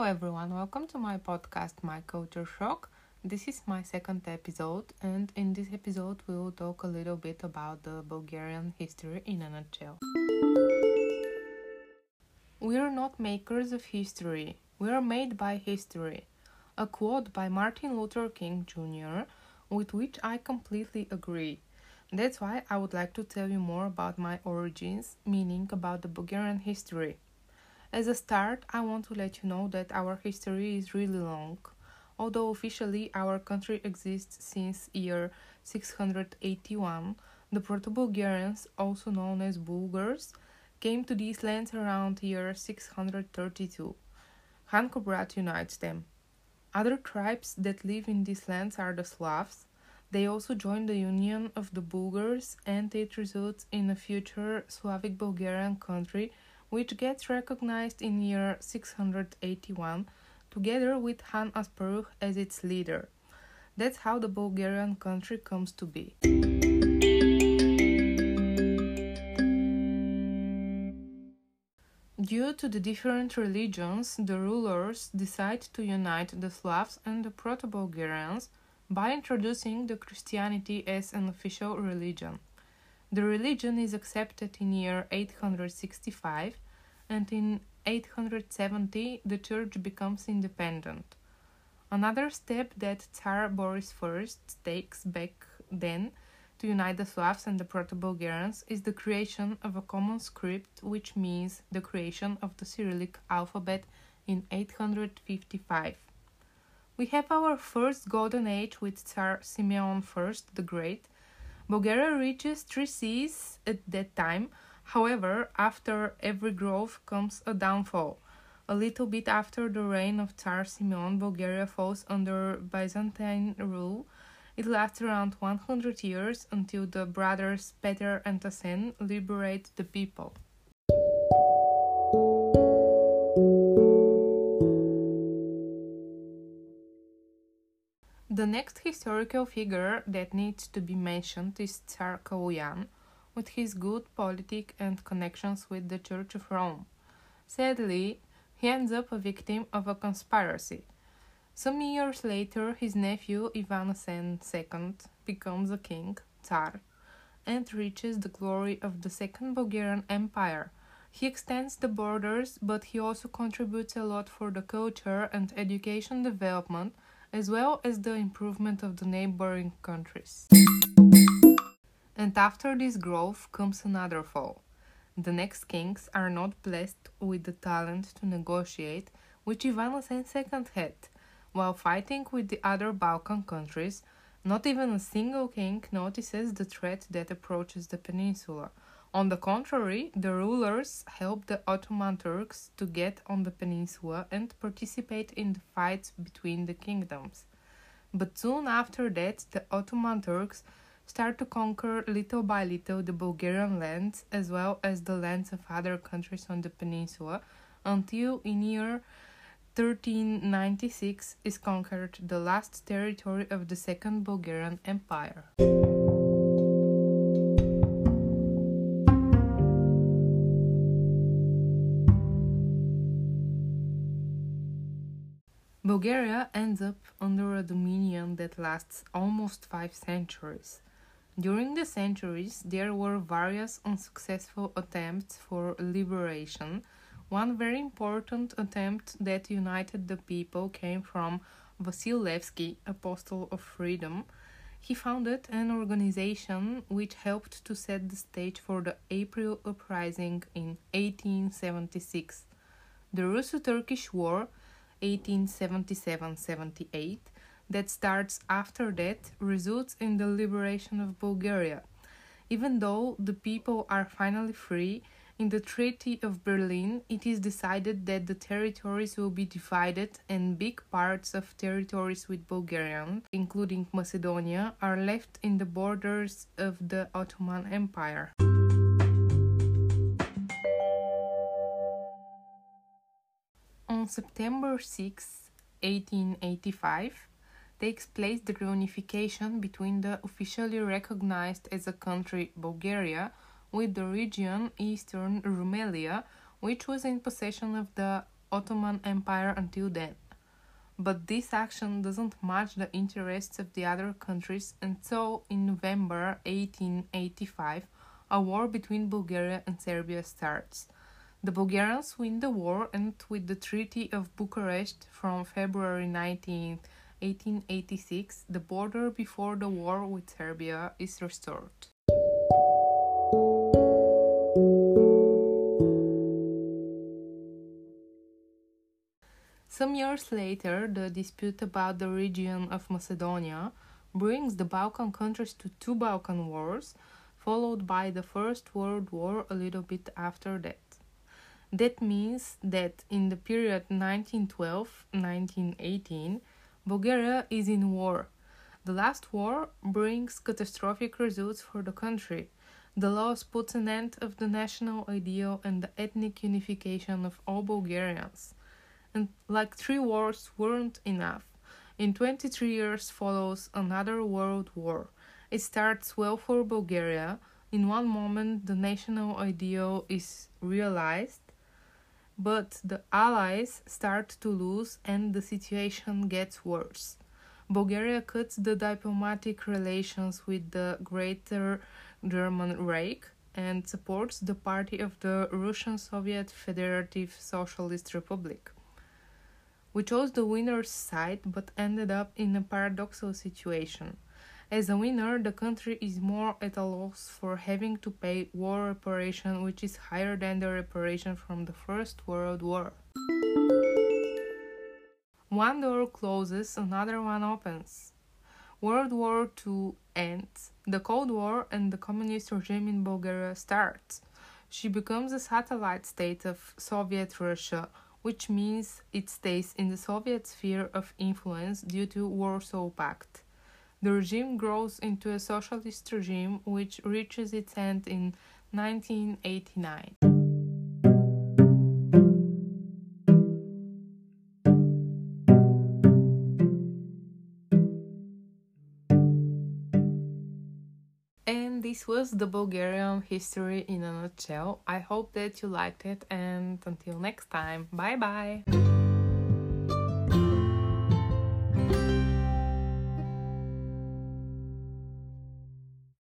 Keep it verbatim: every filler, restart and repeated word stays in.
everyone, welcome to my podcast, My Culture Shock. This is my second episode, and in this episode, we will talk a little bit about the Bulgarian history in a nutshell. We are not makers of history, we are made by history. A quote by Martin Luther King Junior, with which I completely agree. That's why I would like to tell you more about my origins, meaning about the Bulgarian history. As a start, I want to let you know that our history is really long. Although officially our country exists since year six hundred eighty-one, the Proto-Bulgarians, also known as Bulgars, came to these lands around year six hundred thirty-two. Khan Kubrat unites them. Other tribes that live in these lands are the Slavs. They also joined the union of the Bulgars, and it results in a future Slavic Bulgarian country which gets recognized in year six hundred eighty-one, together with Han Asparuh as its leader. That's how the Bulgarian country comes to be. Due to the different religions, the rulers decide to unite the Slavs and the Proto-Bulgarians by introducing the Christianity as an official religion. The religion is accepted in year eight hundred sixty-five, and in eight hundred seventy the church becomes independent. Another step that Tsar Boris the First takes back then to unite the Slavs and the Proto-Bulgarians is the creation of a common script, which means the creation of the Cyrillic alphabet in eight hundred fifty-five. We have our first golden age with Tsar Simeon the First the Great. Bulgaria reaches three seas at that time. However, after every growth comes a downfall. A little bit after the reign of Tsar Simeon, Bulgaria falls under Byzantine rule. It lasts around one hundred years until the brothers Peter and Tassen liberate the people. The next historical figure that needs to be mentioned is Tsar Kaloyan, with his good politic and connections with the Church of Rome. Sadly, he ends up a victim of a conspiracy. Some years later, his nephew Ivan Asen the Second becomes a king, Tsar, and reaches the glory of the Second Bulgarian Empire. He extends the borders, but he also contributes a lot for the culture and education development, as well as the improvement of the neighboring countries. And after this growth comes another fall. The next kings are not blessed with the talent to negotiate, which Ivan Asen the Second had. While fighting with the other Balkan countries, not even a single king notices the threat that approaches the peninsula. On the contrary, the rulers help the Ottoman Turks to get on the peninsula and participate in the fights between the kingdoms. But soon after that, the Ottoman Turks start to conquer little by little the Bulgarian lands as well as the lands of other countries on the peninsula, until in year thirteen ninety-six is conquered the last territory of the Second Bulgarian Empire. Bulgaria ends up under a dominion that lasts almost five centuries. During the centuries, there were various unsuccessful attempts for liberation. One very important attempt that united the people came from Vasil Levski, Apostle of Freedom. He founded an organization which helped to set the stage for the April Uprising in eighteen seventy-six. The Russo-Turkish War, eighteen seventy-seven seventy-eight, that starts after that, results in the liberation of Bulgaria. Even though the people are finally free, in the Treaty of Berlin, it is decided that the territories will be divided and big parts of territories with Bulgarian, including Macedonia, are left in the borders of the Ottoman Empire. On September sixth, eighteen eighty-five, takes place the reunification between the officially recognized as a country Bulgaria with the region Eastern Rumelia, which was in possession of the Ottoman Empire until then. But this action doesn't match the interests of the other countries, and so in November eighteen eighty-five, a war between Bulgaria and Serbia starts. The Bulgarians win the war, and with the Treaty of Bucharest from February nineteenth, eighteen eighty-six, the border before the war with Serbia is restored. Some years later, the dispute about the region of Macedonia brings the Balkan countries to two Balkan wars, followed by the First World War a little bit after that. That means that in the period nineteen twelve to nineteen eighteen, Bulgaria is in war. The last war brings catastrophic results for the country. The loss puts an end of the national ideal and the ethnic unification of all Bulgarians. And like three wars weren't enough, in twenty-three years follows another world war. It starts well for Bulgaria. In one moment the national ideal is realized, but the allies start to lose and the situation gets worse. Bulgaria cuts the diplomatic relations with the Greater German Reich and supports the party of the Russian Soviet Federative Socialist Republic. We chose the winner's side but ended up in a paradoxical situation. As a winner, the country is more at a loss for having to pay war reparation, which is higher than the reparation from the First World War. One door closes, another one opens. World War Two ends. The Cold War and the communist regime in Bulgaria starts. She becomes a satellite state of Soviet Russia, which means it stays in the Soviet sphere of influence due to Warsaw Pact. The regime grows into a socialist regime which reaches its end in nineteen eighty-nine. And this was the Bulgarian history in a nutshell. I hope that you liked it, and until next time, bye bye!